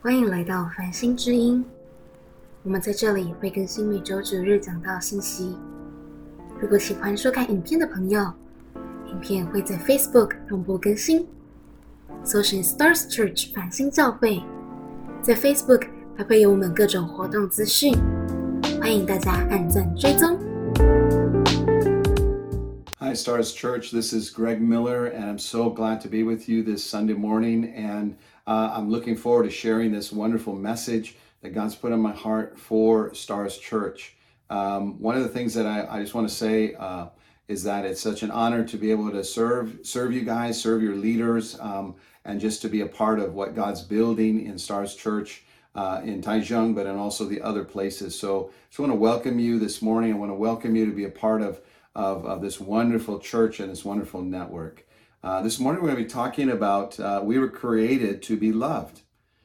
欢迎来到繁星之音，我们在这里会更新每周主日讲道信息。如果喜欢收看影片的朋友，影片会在 Facebook 同步更新，搜寻 Stars Church 繁星教会，在 Facebook 还会有我们各种活动资讯，欢迎大家按赞追踪。 Hi, Stars Church. This is Greg Miller, and I'm so glad to be with you this Sunday morning. And I'm looking forward to sharing this wonderful message that God's put on my heart for Stars Church. One of the things that I just want to say is that it's such an honor to be able to serve you guys, serve your leaders, and just to be a part of what God's building in Stars Church in Taichung, but in also the other places. So I just want to welcome you this morning. I want to welcome you to be a part of this wonderful church and this wonderful network. This morning we're going to be talking about we were created to be loved.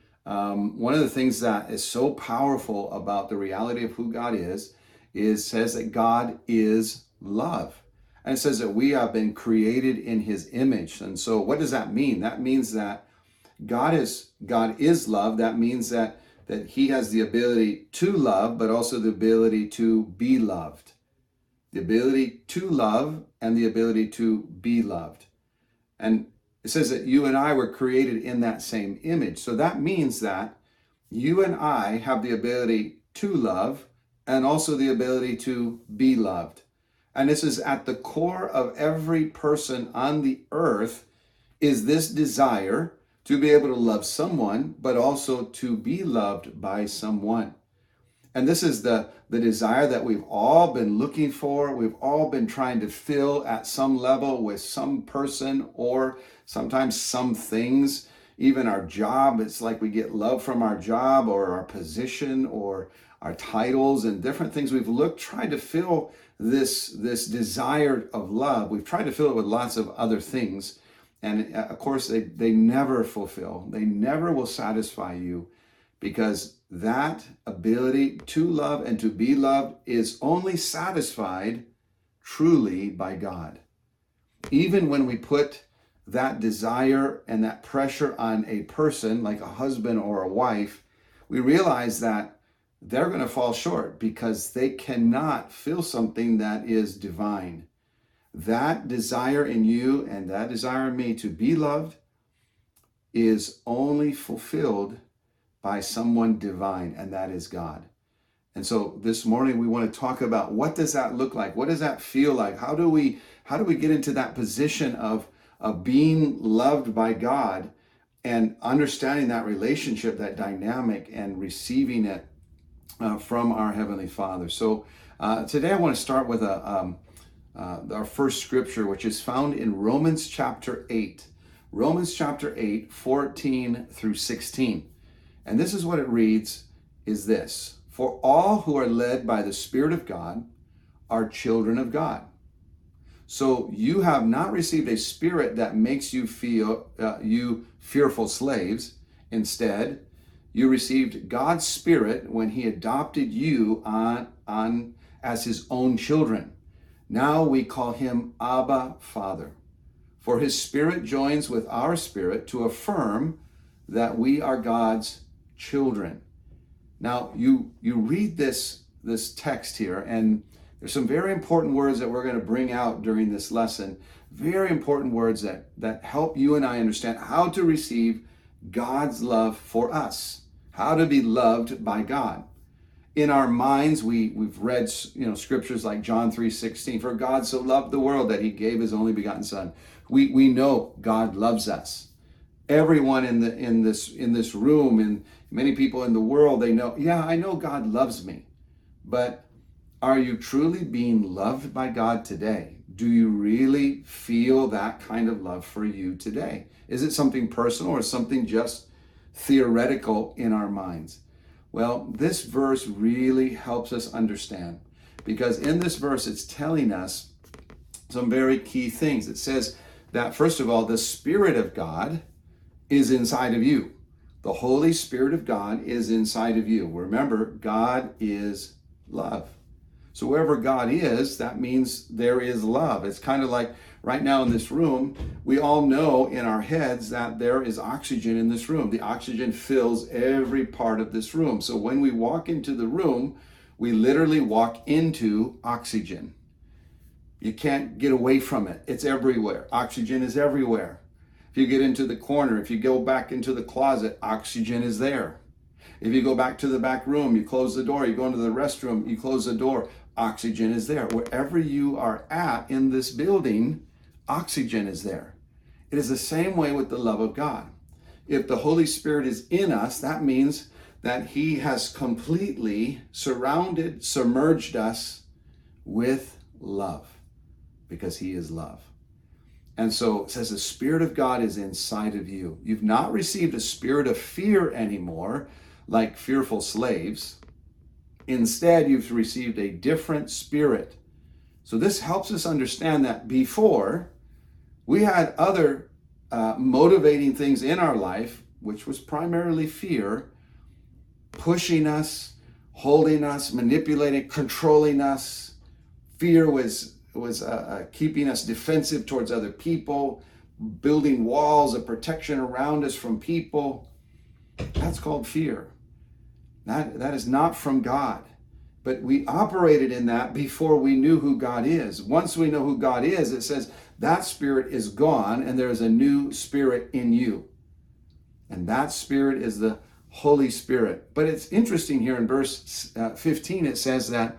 One of the things that is so powerful about the reality of who God is says that God is love. And it says that we have been created in his image. And so what does that mean? That means that God is love. That means that he has the ability to love, but also the ability to be loved. The ability to love and the ability to be loved. And it says that you and I were created in that same image. So that means that you and I have the ability to love and also the ability to be loved. And this is at the core of every person on the earth, is this desire to be able to love someone, but also to be loved by someone. And this is the desire that we've all been looking for. We've all been trying to fill at some level with some person or sometimes some things. Even our job, it's like we get love from our job or our position or our titles and different things. We've tried to fill this desire of love. We've tried to fill it with lots of other things. And of course, they never fulfill. They never will satisfy you, because that ability to love and to be loved is only satisfied truly by God. Even when we put that desire and that pressure on a person, like a husband or a wife, we realize that they're going to fall short because they cannot feel something that is divine. That desire in you and that desire in me to be loved is only fulfilled by someone divine, and that is God. And so this morning we want to talk about, what does that look like? What does that feel like? How do we get into that position of being loved by God and understanding that relationship, that dynamic, and receiving it from our Heavenly Father? So today I want to start with our first scripture, which is found in Romans chapter 8. Romans chapter 8, 14 through 16. And this is what it reads, is this: for all who are led by the Spirit of God are children of God. So you have not received a spirit that makes you feel you fearful slaves. Instead, you received God's Spirit when he adopted you on as his own children. Now we call him Abba, Father. For his Spirit joins with our spirit to affirm that we are God's children. Now you read this text here, and there's some very important words that we're going to bring out during this lesson. Very important words that help you and I understand how to receive God's love for us, how to be loved by God. In our minds, we've read scriptures like John 3:16. For God so loved the world that he gave his only begotten Son. We know God loves us. Everyone in this room and many people in the world, they know, yeah, I know God loves me. But are you truly being loved by God today? Do you really feel that kind of love for you today? Is it something personal or something just theoretical in our minds? Well, this verse really helps us understand, because in this verse, it's telling us some very key things. It says that, first of all, the Spirit of God is inside of you. The Holy Spirit of God is inside of you. Remember, God is love. So wherever God is, that means there is love. It's kind of like right now in this room, we all know in our heads that there is oxygen in this room. The oxygen fills every part of this room. So when we walk into the room, we literally walk into oxygen. You can't get away from it. It's everywhere. Oxygen is everywhere. If you get into the corner, if you go back into the closet, oxygen is there. If you go back to the back room, you close the door, you go into the restroom, you close the door, oxygen is there. Wherever you are at in this building, oxygen is there. It is the same way with the love of God. If the Holy Spirit is in us, that means that He has completely surrounded, submerged us with love, because He is love. And so it says the Spirit of God is inside of you. You've not received a spirit of fear anymore, like fearful slaves. Instead, you've received a different spirit. So this helps us understand that before, we had other motivating things in our life, which was primarily fear, pushing us, holding us, manipulating, controlling us. Fear was keeping us defensive towards other people, building walls of protection around us from people. That's called fear. That is not from God. But we operated in that before we knew who God is. Once we know who God is, it says that spirit is gone and there is a new spirit in you. And that spirit is the Holy Spirit. But it's interesting here in verse 15, it says that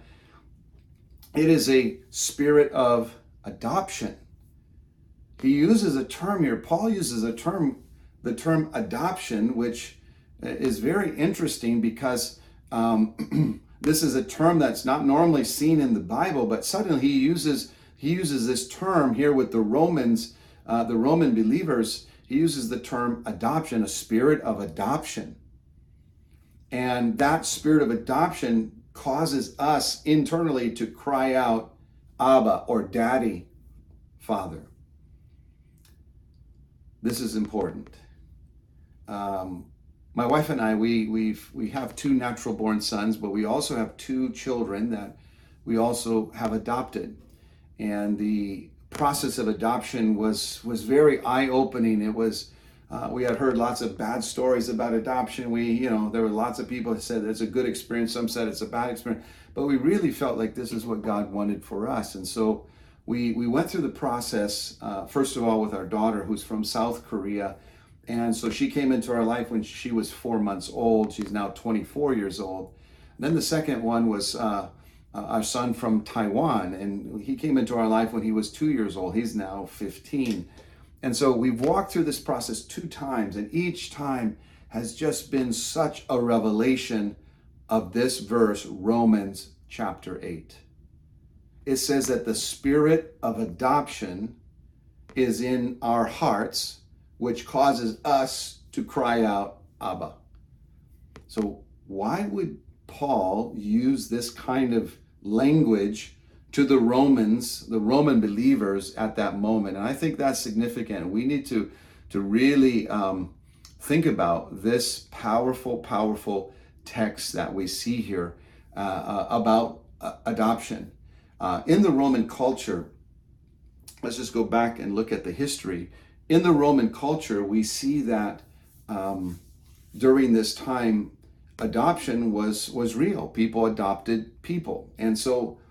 it is a spirit of adoption. He uses a term here. Paul uses the term adoption, which is very interesting because this is a term that's not normally seen in the Bible, but suddenly he uses this term here with the Romans, the Roman believers. He uses the term adoption, a spirit of adoption. And that spirit of adoption causes us internally to cry out, Abba, or Daddy, Father. This is important. My wife and I, we have two natural born sons, but we also have two children that we also have adopted. And the process of adoption was very eye-opening. It was we had heard lots of bad stories about adoption. There were lots of people that said it's a good experience. Some said it's a bad experience. But we really felt like this is what God wanted for us. And so we went through the process, first of all, with our daughter, who's from South Korea. And so she came into our life when she was 4 months old. She's now 24 years old. And then the second one was our son from Taiwan. And he came into our life when he was 2 years old. He's now 15. And so we've walked through this process 2 times, and each time has just been such a revelation of this verse, Romans chapter 8. It says that the spirit of adoption is in our hearts, which causes us to cry out, Abba. So why would Paul use this kind of language to the Romans, the Roman believers at that moment? And I think that's significant. We need to really think about this powerful text that we see here about adoption. In the Roman culture, let's just go back and look at the history. In the Roman culture, we see that during this time, adoption was real. People adopted people. And so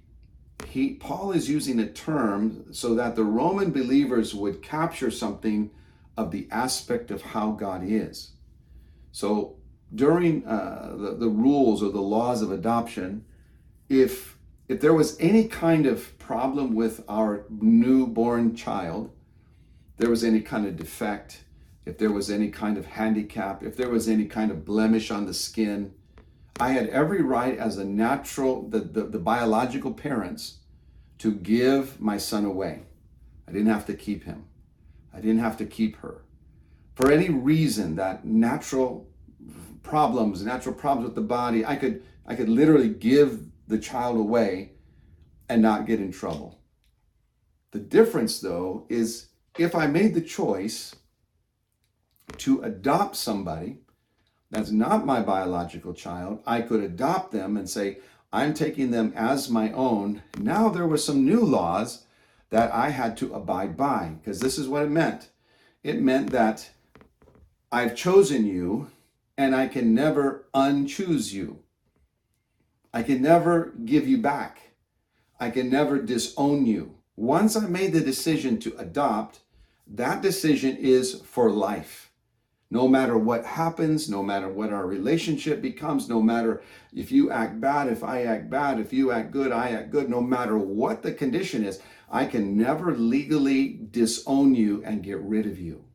Paul is using a term so that the Roman believers would capture something of the aspect of how God is. So during the rules or the laws of adoption, if there was any kind of problem with our newborn child, there was any kind of defect, if there was any kind of handicap, if there was any kind of blemish on the skin, I had every right as a natural, the biological parents, to give my son away. I didn't have to keep him. I didn't have to keep her. For any reason, that natural problems with the body, I could literally give the child away and not get in trouble. The difference, though, is if I made the choice to adopt somebody that's not my biological child, I could adopt them and say, I'm taking them as my own. Now there were some new laws that I had to abide by, because this is what it meant. It meant that I've chosen you and I can never unchoose you. I can never give you back. I can never disown you. Once I made the decision to adopt, that decision is for life. No matter what happens, no matter what our relationship becomes, no matter if you act bad, if I act bad, if you act good, I act good, no matter what the condition is, I can never legally disown you and get rid of you.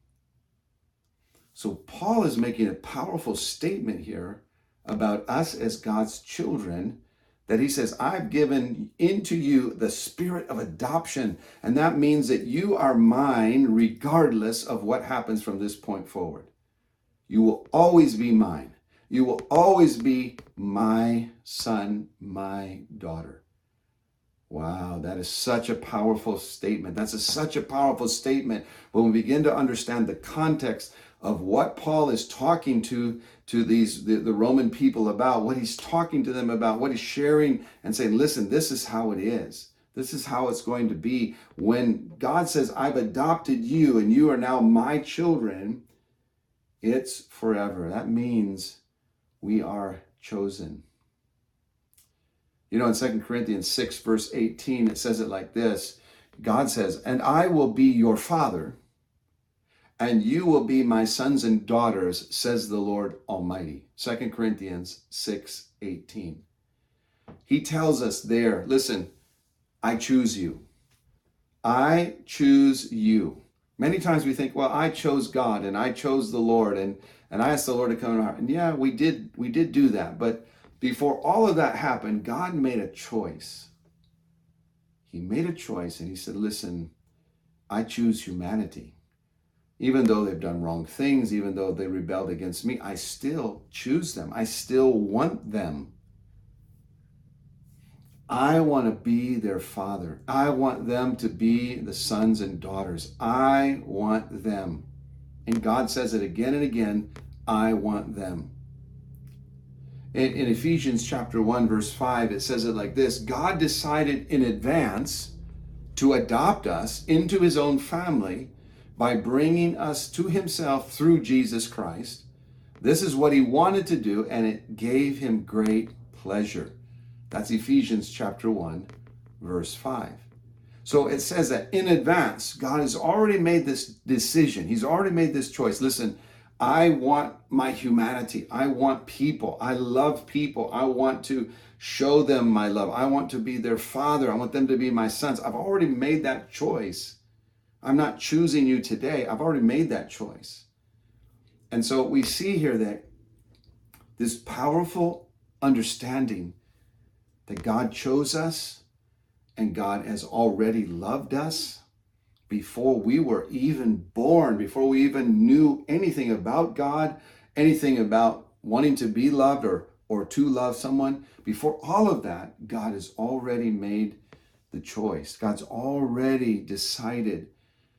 So Paul is making a powerful statement here about us as God's children, that he says, I've given into you the spirit of adoption. And that means that you are mine regardless of what happens from this point forward. You will always be mine. You will always be my son, my daughter. Wow, that is such a powerful statement. That's such a powerful statement when we begin to understand the context of what Paul is talking to the Roman people about, what he's talking to them about, what he's sharing and saying, listen, this is how it is. This is how it's going to be. When God says, I've adopted you and you are now my children, it's forever. That means we are chosen. You know, in 2 Corinthians 6, verse 18, it says it like this. God says, and I will be your father, and you will be my sons and daughters, says the Lord Almighty. 2 Corinthians 6, 18. He tells us there, listen, I choose you. I choose you. Many times we think, well, I chose God and I chose the Lord and I asked the Lord to come in our heart. And yeah, we did do that. But before all of that happened, God made a choice. He made a choice and he said, listen, I choose humanity. Even though they've done wrong things, even though they rebelled against me, I still choose them. I still want them. I want to be their father. I want them to be the sons and daughters. I want them. And God says it again and again, I want them. In Ephesians chapter 1, verse 5, it says it like this. God decided in advance to adopt us into his own family by bringing us to himself through Jesus Christ. This is what he wanted to do, and it gave him great pleasure. That's Ephesians chapter 1, verse 5. So it says that in advance, God has already made this decision. He's already made this choice. Listen, I want my humanity. I want people. I love people. I want to show them my love. I want to be their father. I want them to be my sons. I've already made that choice. I'm not choosing you today. I've already made that choice. And so we see here that this powerful understanding that God chose us and God has already loved us before we were even born, before we even knew anything about God, anything about wanting to be loved or to love someone. Before all of that, God has already made the choice. God's already decided,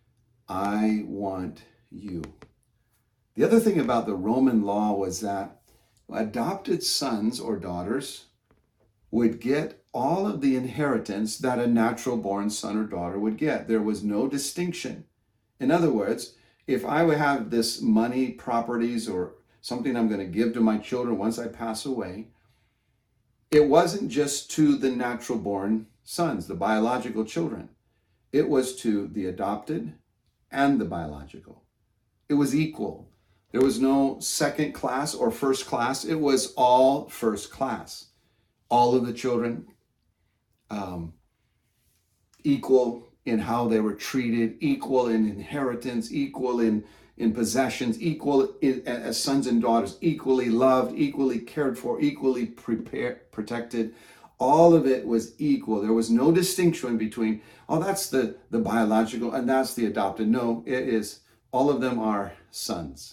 I want you. The other thing about the Roman law was that adopted sons or daughters would get all of the inheritance that a natural born son or daughter would get. There was no distinction. In other words, if I would have this money, properties, or something I'm going to give to my children once I pass away, it wasn't just to the natural born sons, the biological children. It was to the adopted and the biological. It was equal. There was no second class or first class. It was all first class. All of the children equal in how they were treated, equal in inheritance, equal in possessions, equal as sons and daughters, equally loved, equally cared for, equally protected. All of it was equal. There was no distinction between, oh, that's the biological and that's the adopted. No, it is, all of them are sons.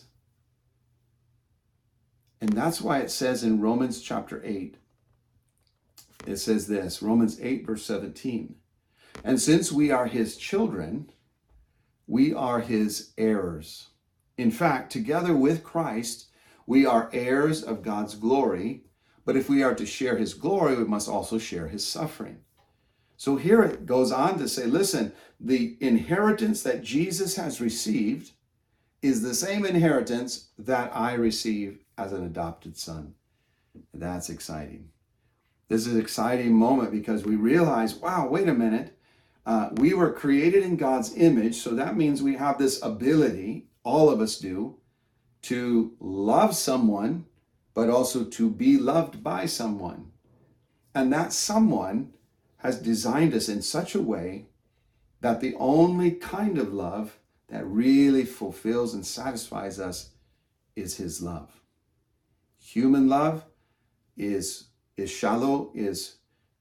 And that's why it says in Romans chapter 8, it says this, Romans 8, verse 17. And since we are his children, we are his heirs. In fact, together with Christ, we are heirs of God's glory. But if we are to share his glory, we must also share his suffering. So here it goes on to say, listen, the inheritance that Jesus has received is the same inheritance that I receive as an adopted son. That's exciting. This is an exciting moment because we realize, wow, wait a minute. We were created in God's image, so that means we have this ability, all of us do, to love someone, but also to be loved by someone. And that someone has designed us in such a way that the only kind of love that really fulfills and satisfies us is his love. Human love is shallow, is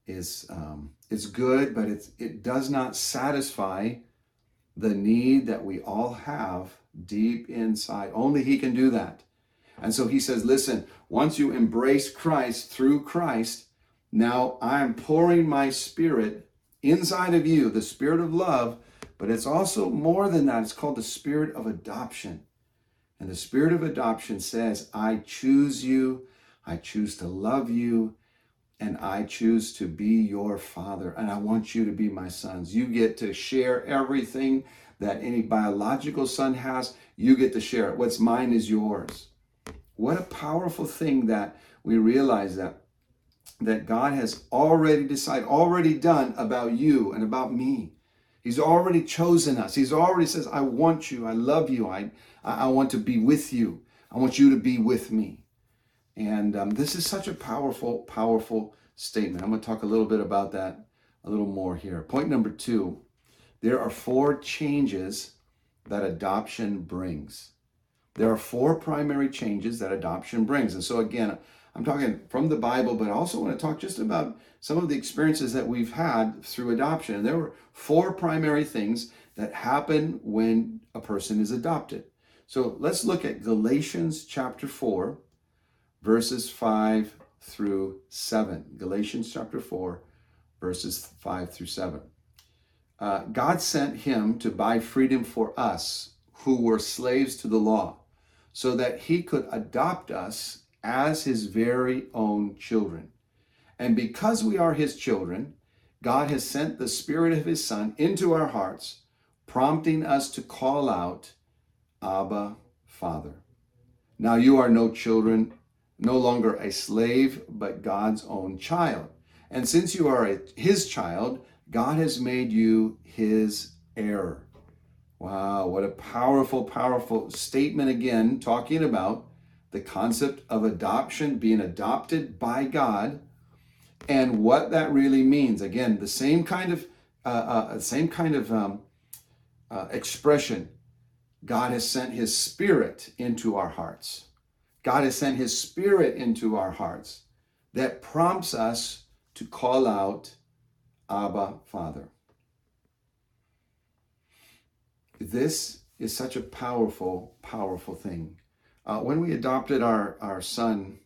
good, but it does not satisfy the need that we all have deep inside. Only he can do that. And so he says, listen, once you embrace Christ through Christ, now I'm pouring my spirit inside of you, the spirit of love, but it's also more than that. It's called the spirit of adoption. And the spirit of adoption says, I choose you, I choose to love you, and I choose to be your father, and I want you to be my sons. You get to share everything that any biological son has. You get to share it. What's mine is yours. What a powerful thing that we realize that God has already decided, already done about you and about me. He's already chosen us. He's already says, I want you. I love you. I want to be with you. I want you to be with me. And this is such a powerful, powerful statement. I'm going to talk a little bit about that a little more here. Point number 2, there are 4 changes that adoption brings. There are 4 primary changes that adoption brings. And so again, I'm talking from the Bible, but I also want to talk just about some of the experiences that we've had through adoption. And there were 4 primary things that happen when a person is adopted. So let's look at Galatians chapter 4, verses 5 through 7. Galatians chapter 4, verses 5 through 7. God sent him to buy freedom for us who were slaves to the law, so that he could adopt us as his very own children. And because we are his children, God has sent the Spirit of his Son into our hearts, prompting us to call out, Abba, Father. Now you are no longer a slave, but God's own child. And since you are his child, God has made you his heir. Wow, what a powerful, powerful statement again, talking about the concept of adoption, being adopted by God, and what that really means. Again, the same kind of expression. God has sent his Spirit into our hearts. God has sent his Spirit into our hearts that prompts us to call out, Abba, Father. This is such a powerful, powerful thing. When we adopted our son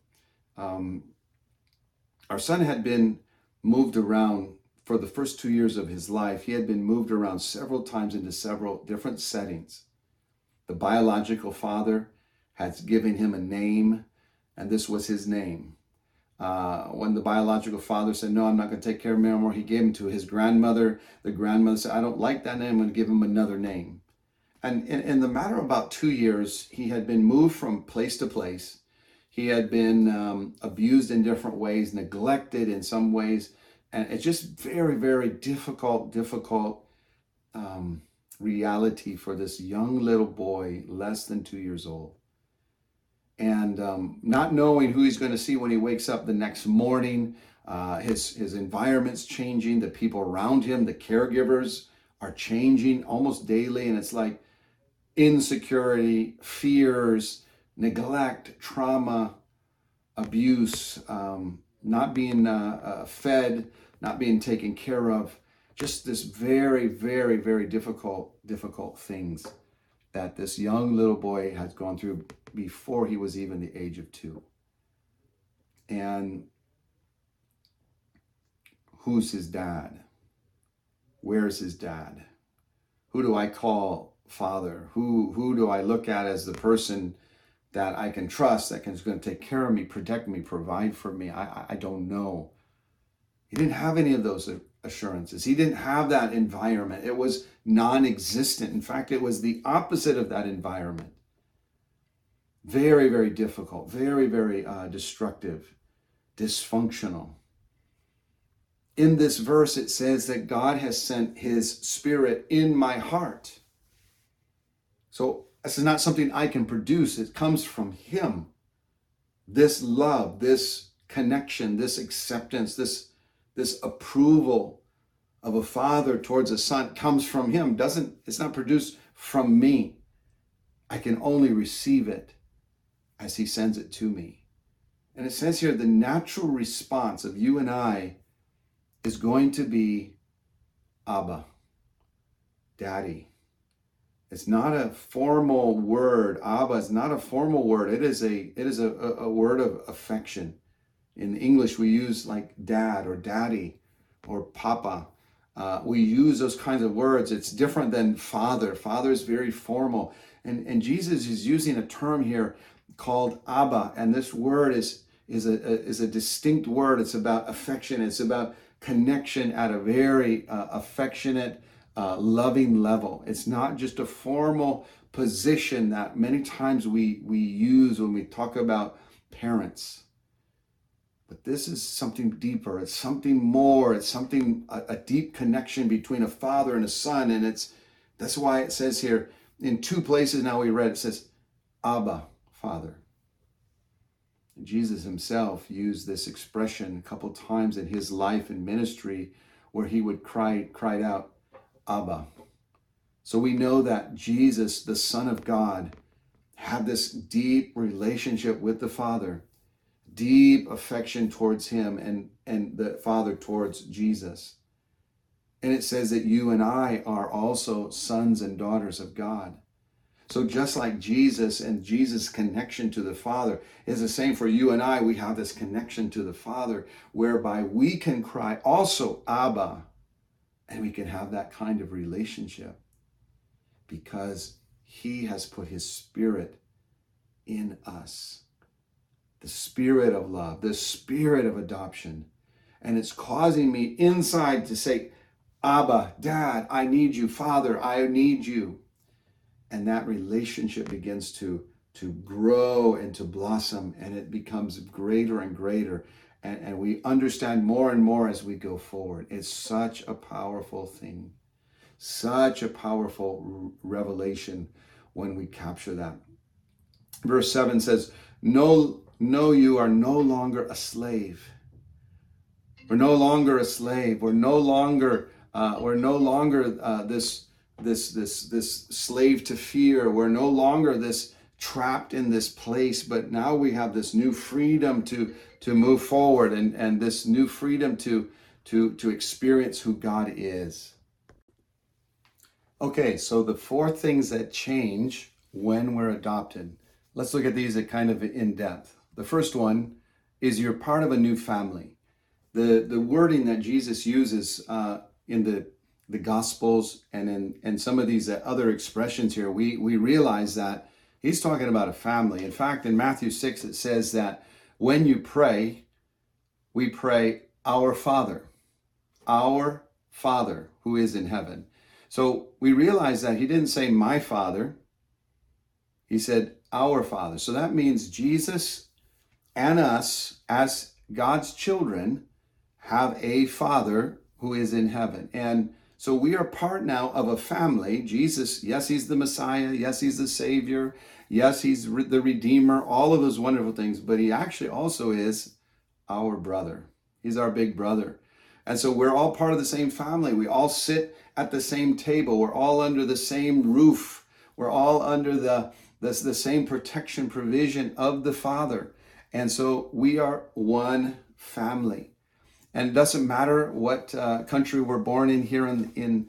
had been moved around for the first 2 years of his life. He had been moved around several times into several different settings. The biological father had given him a name, and this was his name. When the biological father said, no, I'm not going to take care of him anymore, he gave him to his grandmother. The grandmother said, I don't like that name, I'm going to give him another name. And in the matter of about 2 years, he had been moved from place to place. He had been abused in different ways, neglected in some ways. And it's just very, very difficult reality for this young little boy, less than 2 years old. And not knowing who he's going to see when he wakes up the next morning, his environment's changing, the people around him, the caregivers are changing almost daily. And it's like insecurity, fears, neglect, trauma, abuse, not being fed, not being taken care of. Just this very, very, very difficult things that this young little boy has gone through before he was even the age of 2. And who's his dad? Where's his dad? Who do I call father? Who do I look at as the person that I can trust, that is going to take care of me, protect me, provide for me? I don't know. He didn't have any of those assurances. He didn't have that environment. It was non-existent. In fact, it was the opposite of that environment. Very, very difficult, very, very destructive, dysfunctional. In this verse, it says that God has sent his Spirit in my heart. So this is not something I can produce. It comes from him. This love, this connection, this acceptance, this approval of a father towards a son comes from him. It's not produced from me. I can only receive it as he sends it to me. And it says here, the natural response of you and I is going to be Abba, Daddy. It's not a formal word. Abba is not a formal word. It is a word of affection. In English, we use like dad or daddy or papa. We use those kinds of words. It's different than father. Father is very formal. And Jesus is using a term here called Abba. And this word is a distinct word. It's about affection. It's about connection at a very affectionate, loving level. It's not just a formal position that many times we use when we talk about parents. But this is something deeper. It's something more. It's something, a deep connection between a father and a son. And that's why it says here in two places now we read, it says, Abba, Father. Jesus himself used this expression a couple times in his life and ministry where he would cried out, Abba. So we know that Jesus, the Son of God, had this deep relationship with the Father, deep affection towards him and the Father towards Jesus. And it says that you and I are also sons and daughters of God. So just like Jesus and Jesus' connection to the Father is the same for you and I, we have this connection to the Father whereby we can cry also Abba, and we can have that kind of relationship because he has put his Spirit in us. The Spirit of love, the Spirit of adoption. And it's causing me inside to say, Abba, Dad, I need you. Father, I need you. And that relationship begins to grow and to blossom, and it becomes greater and greater. And we understand more and more as we go forward. It's such a powerful thing, such a powerful revelation when we capture that. Verse 7 says, No, you are no longer a slave. We're no longer a slave. We're no longer this slave to fear. We're no longer this trapped in this place, but now we have this new freedom to move forward and this new freedom to experience who God is. Okay, so the four things that change when we're adopted. Let's look at these at kind of in depth. The first one is you're part of a new family. The wording that Jesus uses in the Gospels and in some of these other expressions here, we realize that he's talking about a family. In fact, in Matthew 6, it says that when you pray, we pray, Our Father who is in heaven. So we realize that he didn't say my Father, he said our Father. So that means Jesus and us as God's children have a Father who is in heaven. And so we are part now of a family. Jesus, yes, he's the Messiah. Yes, he's the Savior. Yes, he's the Redeemer, all of those wonderful things. But he actually also is our brother. He's our big brother. And so we're all part of the same family. We all sit at the same table. We're all under the same roof. We're all under the same protection provision of the Father. And so we are one family. And it doesn't matter what country we're born in here in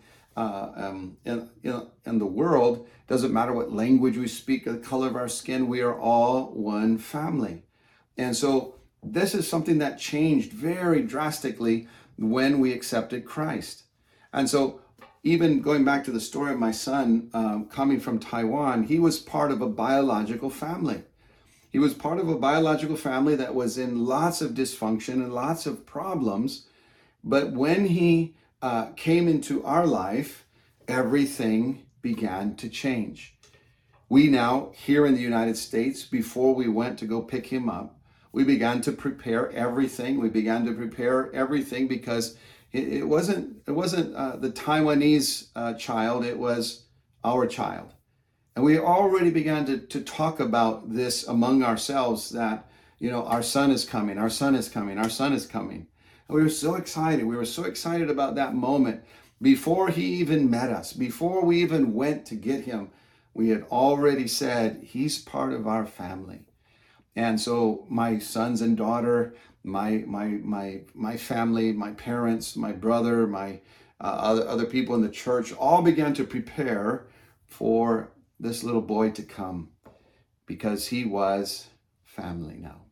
the world. It doesn't matter what language we speak, the color of our skin. We are all one family. And so this is something that changed very drastically when we accepted Christ. And so even going back to the story of my son coming from Taiwan, he was part of a biological family. He was part of a biological family that was in lots of dysfunction and lots of problems. But when he came into our life, everything began to change. We now, here in the United States, before we went to go pick him up, we began to prepare everything. We began to prepare everything because it wasn't the Taiwanese child, it was our child. And we already began to talk about this among ourselves that, our son is coming, our son is coming, our son is coming. And we were so excited. We were so excited about that moment. Before he even met us, before we even went to get him, we had already said, he's part of our family. And so my sons and daughter, my family, my parents, my brother, my other people in the church all began to prepare for this little boy to come because he was family now.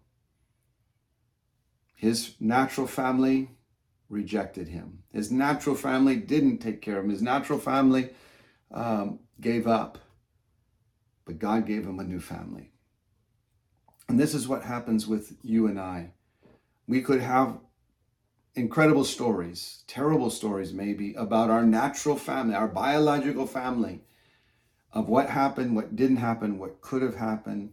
His natural family rejected him. His natural family didn't take care of him. His natural family gave up. But God gave him a new family. And this is what happens with you and I. We could have incredible stories, terrible stories maybe, about our natural family, our biological family, of what happened, what didn't happen, what could have happened.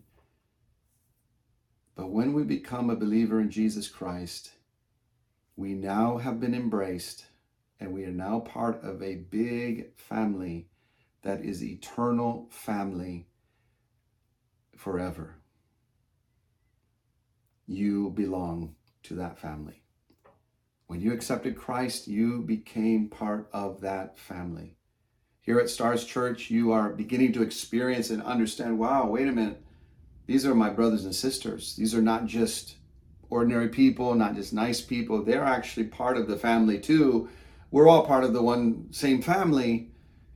But when we become a believer in Jesus Christ, we now have been embraced and we are now part of a big family that is eternal family forever. You belong to that family. When you accepted Christ, you became part of that family. Here at Stars Church, you are beginning to experience and understand, wow, wait a minute. These are my brothers and sisters. These are not just ordinary people, not just nice people. They're actually part of the family too. We're all part of the same family.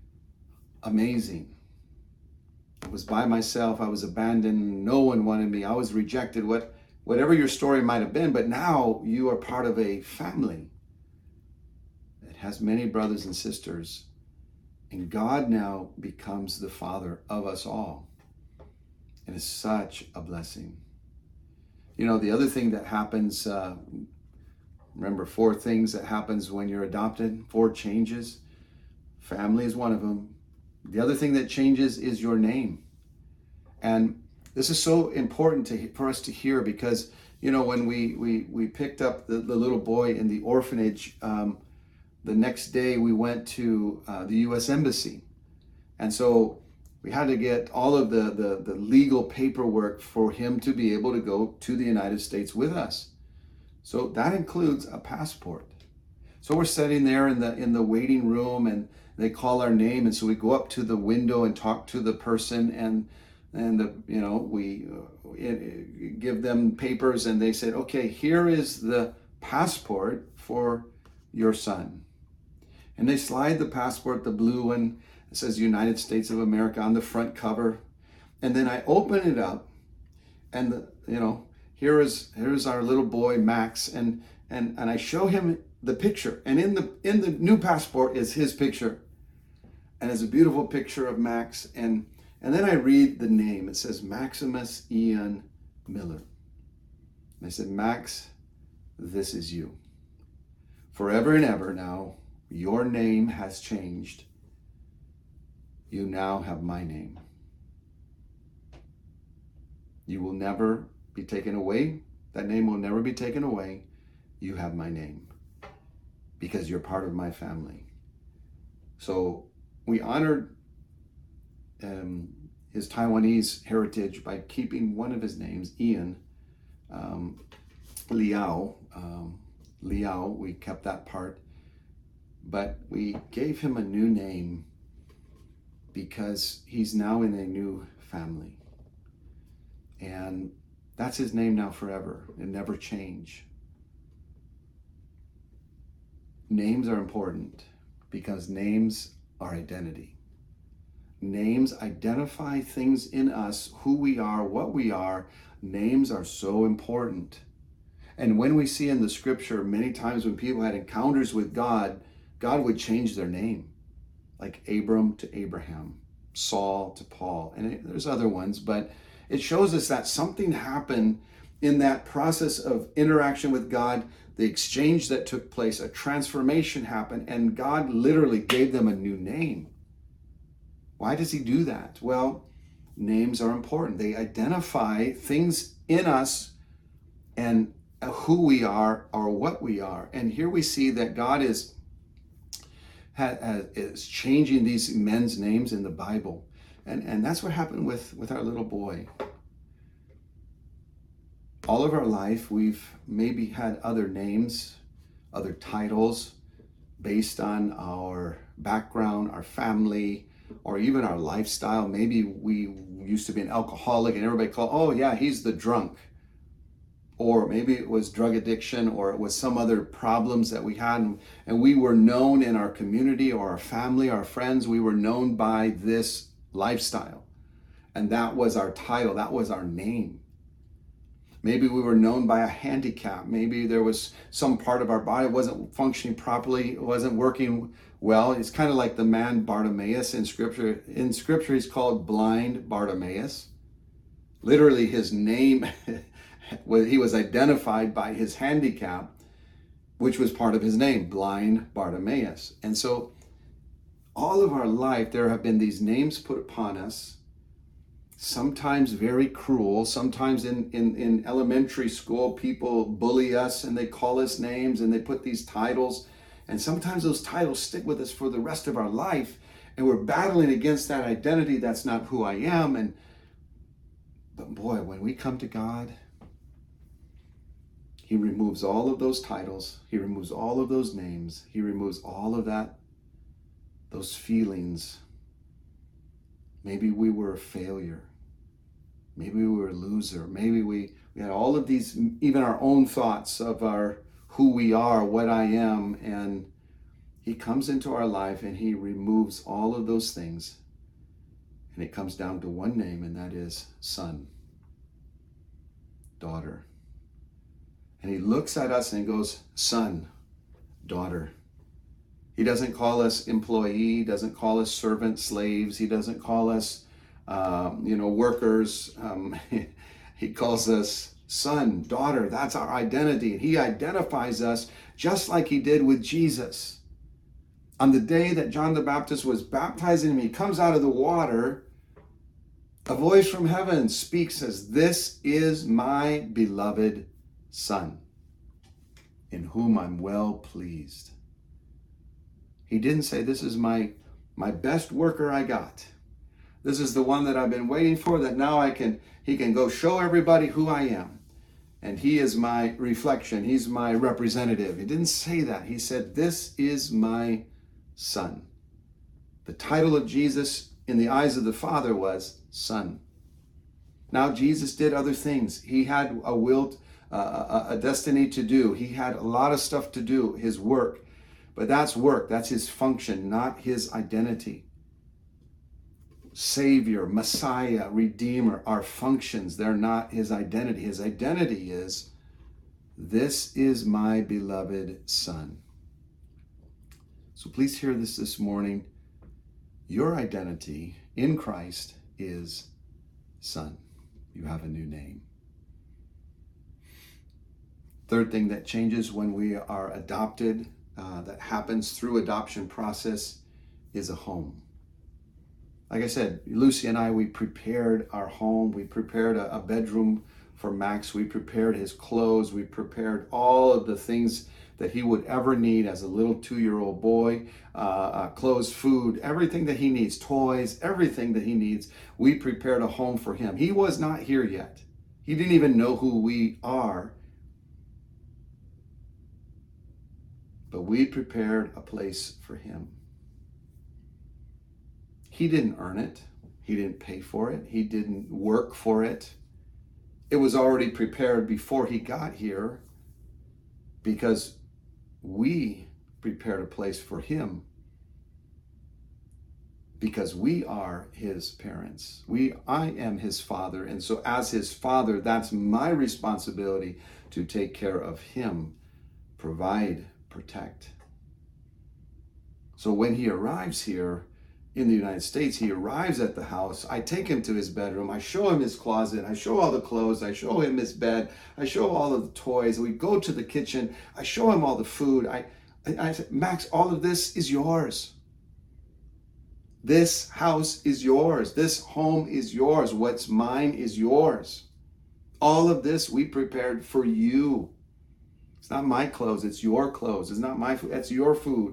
Amazing. I was by myself. I was abandoned. No one wanted me. I was rejected. Whatever your story might have been, but now you are part of a family that has many brothers and sisters. And God now becomes the Father of us all. And it's such a blessing. The other thing that happens, remember 4 things that happens when you're adopted, 4 changes. Family is one of them. The other thing that changes is your name. And this is so important for us to hear because, when we picked up the little boy in the orphanage, the next day we went to the U.S. Embassy. And so we had to get all of the legal paperwork for him to be able to go to the United States with us. So that includes a passport. So we're sitting there in the waiting room and they call our name. And so we go up to the window and talk to the person and we give them papers and they said, okay, here is the passport for your son. And they slide the passport, the blue one, it says United States of America on the front cover. And then I open it up and here's our little boy Max and I show him the picture. And in the new passport is his picture. And it's a beautiful picture of Max and then I read the name. It says Maximus Ian Miller. And I said, Max, this is you. Forever and ever now, your name has changed. You now have my name. You will never be taken away. That name will never be taken away. You have my name because you're part of my family. So we honored his Taiwanese heritage by keeping one of his names, Ian, Liao. Liao, we kept that part. But we gave him a new name because he's now in a new family. And that's his name now forever. It never change. Names are important because names are identity. Names identify things in us, who we are, what we are. Names are so important. And when we see in the scripture, many times when people had encounters with God, God would change their name. Like Abram to Abraham, Saul to Paul, and there's other ones, but it shows us that something happened in that process of interaction with God the exchange that took place, a transformation happened, and God literally gave them a new name. Why does he do that? Well, names are important. They identify things in us and who we are or what we are. And here we see that God is changing these men's names in the Bible. And that's what happened with our little boy. All of our life, we've maybe had other names, other titles based on our background, our family, or even our lifestyle. Maybe we used to be an alcoholic and everybody called, oh yeah, he's the drunk. Or maybe it was drug addiction, or it was some other problems that we had. And we were known in our community or our family, our friends, we were known by this lifestyle. And that was our title, that was our name. Maybe we were known by a handicap. Maybe there was some part of our body wasn't functioning properly, it wasn't working well. It's kind of like the man Bartimaeus in Scripture. In Scripture, he's called blind Bartimaeus. Literally, his name, he was identified by his handicap, which was part of his name, blind Bartimaeus. And so all of our life, there have been these names put upon us, sometimes very cruel. Sometimes in elementary school, people bully us and they call us names and they put these titles. And sometimes those titles stick with us for the rest of our life. And we're battling against that identity. That's not who I am. But boy, when we come to God, he removes all of those titles. He removes all of those names. He removes all of that, those feelings. Maybe we were a failure. Maybe we were a loser. Maybe we had all of these, even our own thoughts of who we are, what I am. And he comes into our life and he removes all of those things. And it comes down to one name, and that is son, daughter. And he looks at us and he goes, son, daughter. He doesn't call us employee. He doesn't call us servant, slaves. He doesn't call us, workers. He calls us son, daughter. That's our identity. And he identifies us just like he did with Jesus. On the day that John the Baptist was baptizing him, he comes out of the water. A voice from heaven speaks, says, this is my beloved son, in whom I'm well pleased. He didn't say, this is my best worker I got. This is the one that I've been waiting for, that now he can go show everybody who I am. And he is my reflection. He's my representative. He didn't say that. He said, this is my son. The title of Jesus in the eyes of the Father was son. Now, Jesus did other things. He had a will, a destiny to do. He had a lot of stuff to do, his work. But that's work. That's his function, not his identity. Savior, Messiah, Redeemer are functions. They're not his identity. His identity is, this is my beloved son. So please hear this morning. Your identity in Christ is son. You have a new name. Third thing that changes when we are adopted, that happens through adoption process, is a home. Like I said, Lucy and I, we prepared our home. We prepared a bedroom for Max. We prepared his clothes. We prepared all of the things that he would ever need as a little 2-year-old boy, clothes, food, everything that he needs, toys, everything that he needs. We prepared a home for him. He was not here yet. He didn't even know who we are. But we prepared a place for him. He didn't earn it. He didn't pay for it. He didn't work for it. It was already prepared before he got here, because we prepared a place for him, because we are his parents. I am his father. And so as his father, that's my responsibility to take care of him, provide, protect. So when he arrives here, in the United States, he arrives at the house. I take him to his bedroom. I show him his closet. I show all the clothes. I show him his bed. I show all of the toys. We go to the kitchen. I show him all the food. I said, Max, all of this is yours. This house is yours. This home is yours. What's mine is yours. All of this we prepared for you. It's not my clothes. It's your clothes. It's not my food. It's your food.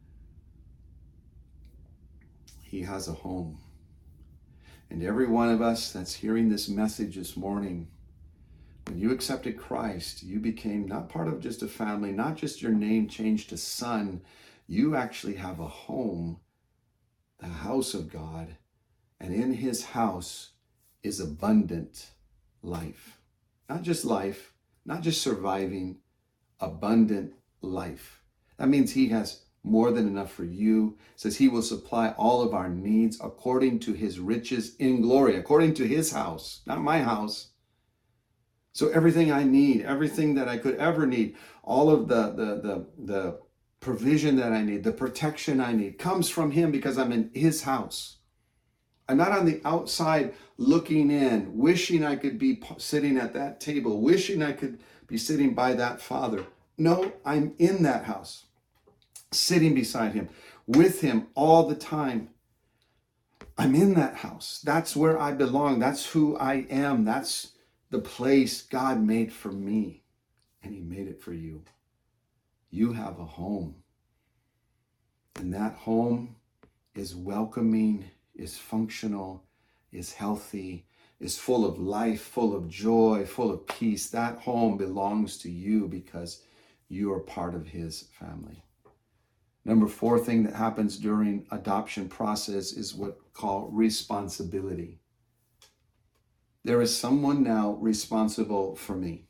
He has a home. And every one of us that's hearing this message this morning, when you accepted Christ, you became not part of just a family, not just your name changed to son. You actually have a home, the house of God. And in his house is abundant life. Not just life, not just surviving, abundant life. That means he has more than enough for you. It says he will supply all of our needs according to his riches in glory, according to his house, not my house. So everything I need, everything that I could ever need, all of the provision that I need, the protection I need comes from him because I'm in his house. I'm not on the outside looking in, wishing I could be sitting at that table, wishing I could be sitting by that father. No, I'm in that house, sitting beside him, with him all the time. I'm in that house. That's where I belong. That's who I am. That's the place God made for me. And he made it for you. You have a home. And that home is welcoming, is functional, is healthy, is full of life, full of joy, full of peace. That home belongs to you because you are part of his family. Number 4 thing that happens during adoption process is what we call responsibility. There is someone now responsible for me.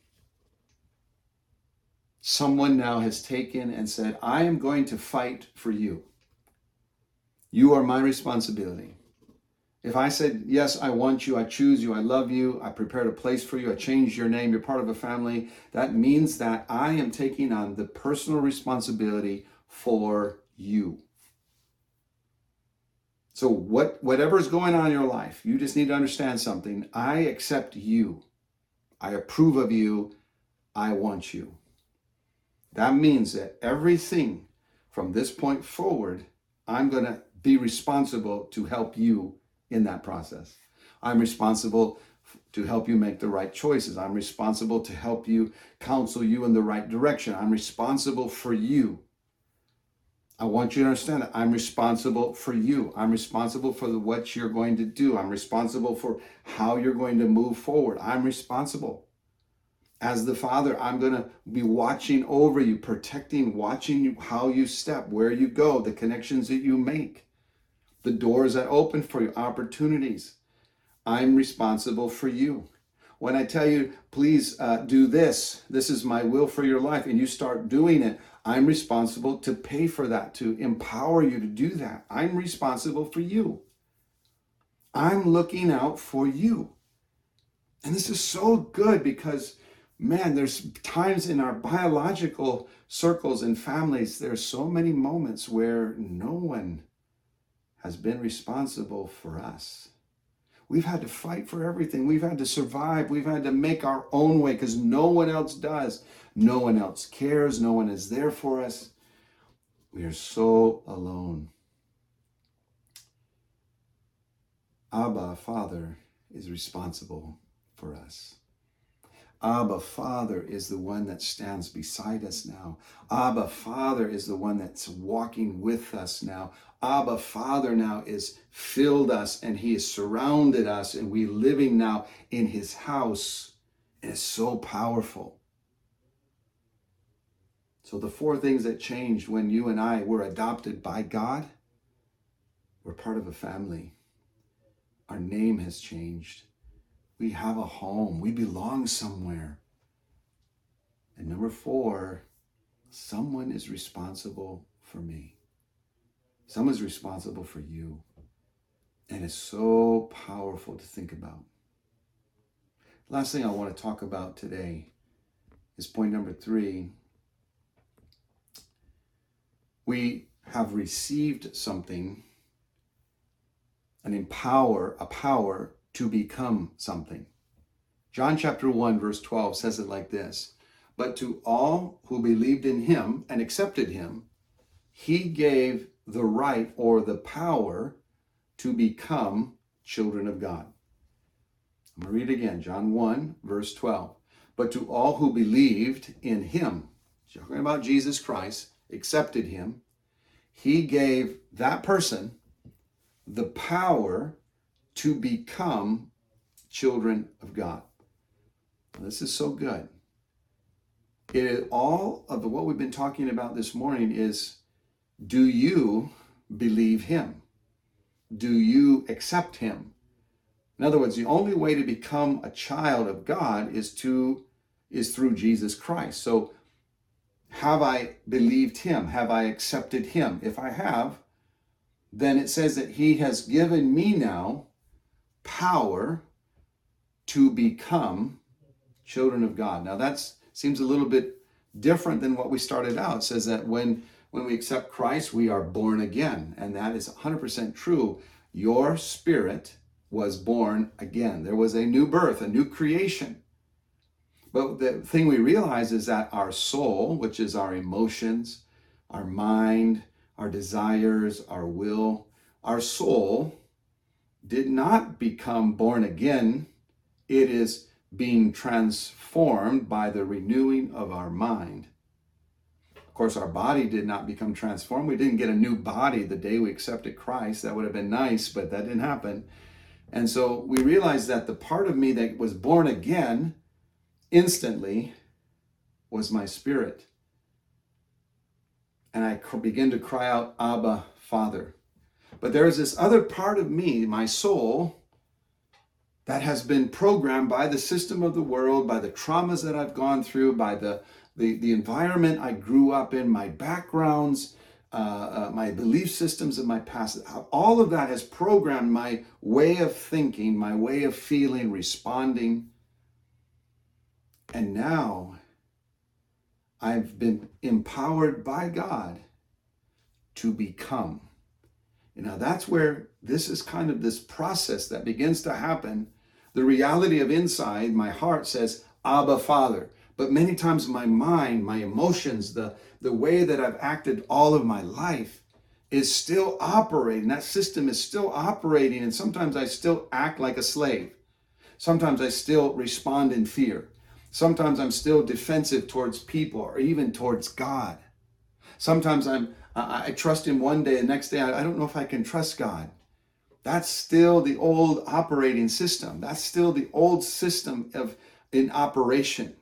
Someone now has taken and said, I am going to fight for you. You are my responsibility. If I said, yes, I want you, I choose you, I love you, I prepared a place for you, I changed your name, you're part of a family, that means that I am taking on the personal responsibility for you. So whatever's going on in your life, you just need to understand something. I accept you. I approve of you. I want you. That means that everything from this point forward, I'm going to be responsible to help you in that process. I'm responsible to help you make the right choices. I'm responsible to help you, counsel you in the right direction. I'm responsible for you. I want you to understand that I'm responsible for you. I'm responsible for what you're going to do. I'm responsible for how you're going to move forward. I'm responsible. As the father, I'm going to be watching over you, protecting, watching you, how you step, where you go, the connections that you make, the doors that open for you, opportunities. I'm responsible for you. When I tell you, please do this, this is my will for your life, and you start doing it, I'm responsible to pay for that, to empower you to do that. I'm responsible for you. I'm looking out for you. And this is so good because, man, there's times in our biological circles and families, there's so many moments where no one has been responsible for us. We've had to fight for everything. We've had to survive. We've had to make our own way because no one else does. No one else cares. No one is there for us. We are so alone. Abba, Father, is responsible for us. Abba, Father, is the one that stands beside us now. Abba, Father, is the one that's walking with us now. Abba, Father, now is filled us and he has surrounded us and we living now in his house. And it's so powerful. So the 4 things that changed when you and I were adopted by God, we're part of a family. Our name has changed. We have a home. We belong somewhere. And number 4, someone is responsible for me. Someone's responsible for you. And it's so powerful to think about. Last thing I want to talk about today is point number 3. We have received something a power to become something. John chapter 1, verse 12 says it like this: "But to all who believed in him and accepted him, he gave the right or the power to become children of God." I'm going to read again, John 1, verse 12. "But to all who believed in him," talking about Jesus Christ, accepted him, he gave that person the power to become children of God. This is so good. It is all of what we've been talking about this morning is, do you believe him? Do you accept him? In other words, the only way to become a child of God is through Jesus Christ. So have I believed him? Have I accepted him? If I have, then it says that he has given me now power to become children of God. Now that seems a little bit different than what we started out. It says that when we accept Christ, we are born again. And that is 100% true. Your spirit was born again. There was a new birth, a new creation. But the thing we realize is that our soul, which is our emotions, our mind, our desires, our will, our soul did not become born again. It is being transformed by the renewing of our mind. Of course, our body did not become transformed. We didn't get a new body the day we accepted Christ. That would have been nice, but that didn't happen. And so we realized that the part of me that was born again instantly was my spirit. And I began to cry out, "Abba, Father." But there is this other part of me, my soul, that has been programmed by the system of the world, by the traumas that I've gone through, by the environment I grew up in, my backgrounds, my belief systems of my past. All of that has programmed my way of thinking, my way of feeling, responding. And now I've been empowered by God to become. You know, that's where this is kind of this process that begins to happen. The reality of inside, my heart says, "Abba, Father." But many times my mind, my emotions, the way that I've acted all of my life is still operating. That system is still operating. And sometimes I still act like a slave. Sometimes I still respond in fear. Sometimes I'm still defensive towards people or even towards God. Sometimes I trust him one day, the next day I don't know if I can trust God. That's still the old operating system. That's still the old system in operation.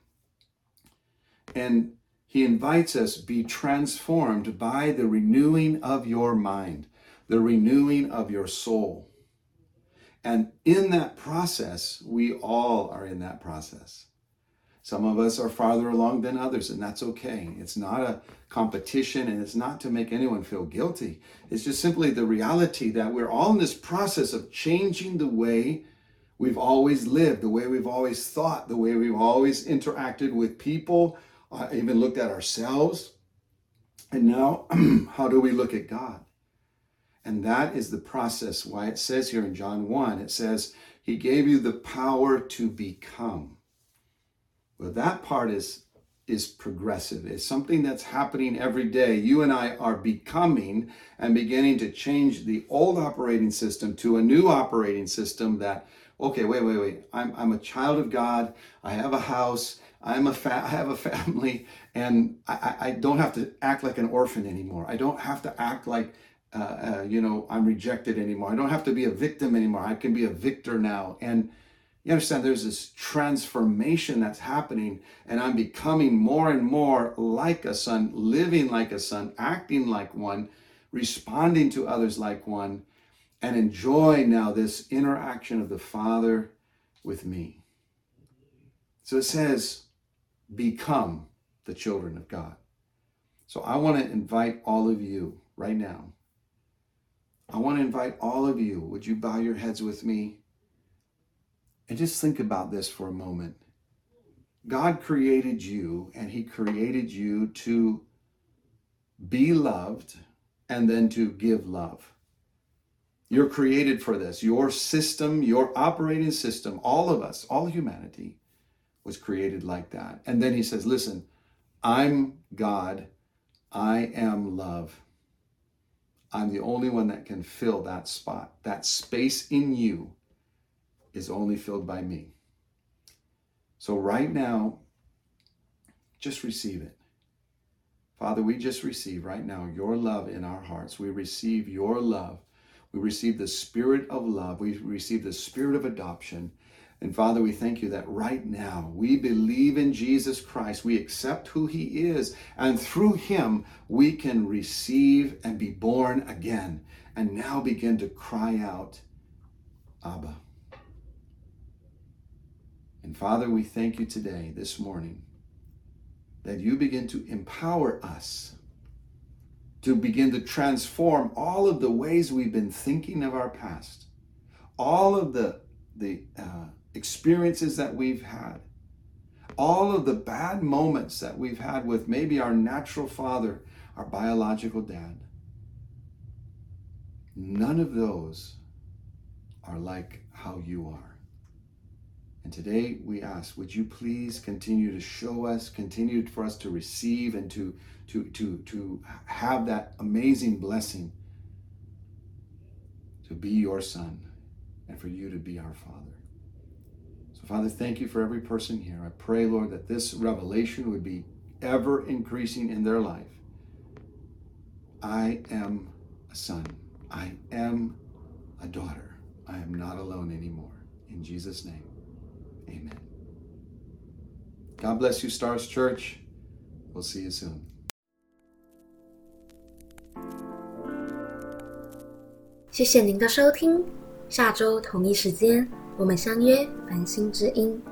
And he invites us, be transformed by the renewing of your mind, the renewing of your soul. And in that process, we all are in that process. Some of us are farther along than others, and that's okay. It's not a competition, and it's not to make anyone feel guilty. It's just simply the reality that we're all in this process of changing the way we've always lived, the way we've always thought, the way we've always interacted with people, even looked at ourselves. And now, how do we look at God? And that is the process why it says here in John 1, it says, he gave you the power to become. Well, that part is progressive. It's something that's happening every day. You and I are becoming and beginning to change the old operating system to a new operating system that, okay, wait. I'm a child of God. I have a house. I have a family, and I don't have to act like an orphan anymore. I don't have to act like, I'm rejected anymore. I don't have to be a victim anymore. I can be a victor now. And you understand, there's this transformation that's happening, and I'm becoming more and more like a son, living like a son, acting like one, responding to others like one, and enjoying now this interaction of the Father with me. So it says, become the children of God. So I want to invite all of you right now. I want to invite all of you. Would you bow your heads with me? And just think about this for a moment. God created you, and he created you to be loved and then to give love. You're created for this. Your system, your operating system, all of us, all humanity was created like that. And then he says, listen, I'm God. I am love. I'm the only one that can fill that spot. That space in you is only filled by me. So right now, just receive it. Father, we just receive right now your love in our hearts. We receive your love. We receive the spirit of love. We receive the spirit of adoption. And Father, we thank you that right now we believe in Jesus Christ. We accept who he is. And through him, we can receive and be born again. And now begin to cry out, Abba. And Father, we thank you today, this morning, that you begin to empower us to begin to transform all of the ways we've been thinking of our past, all of the experiences that we've had, all of the bad moments that we've had with maybe our natural father, our biological dad. None of those are like how you are. And today we ask, would you please continue to show us, continue for us to receive and to have that amazing blessing to be your son and for you to be our Father. So Father, thank you for every person here. I pray, Lord, that this revelation would be ever increasing in their life. I am a son. I am a daughter. I am not alone anymore. In Jesus' name. Amen. God bless you, Stars Church. We'll see you soon. 谢谢您的收听，下周同一时间我们相约繁星之音。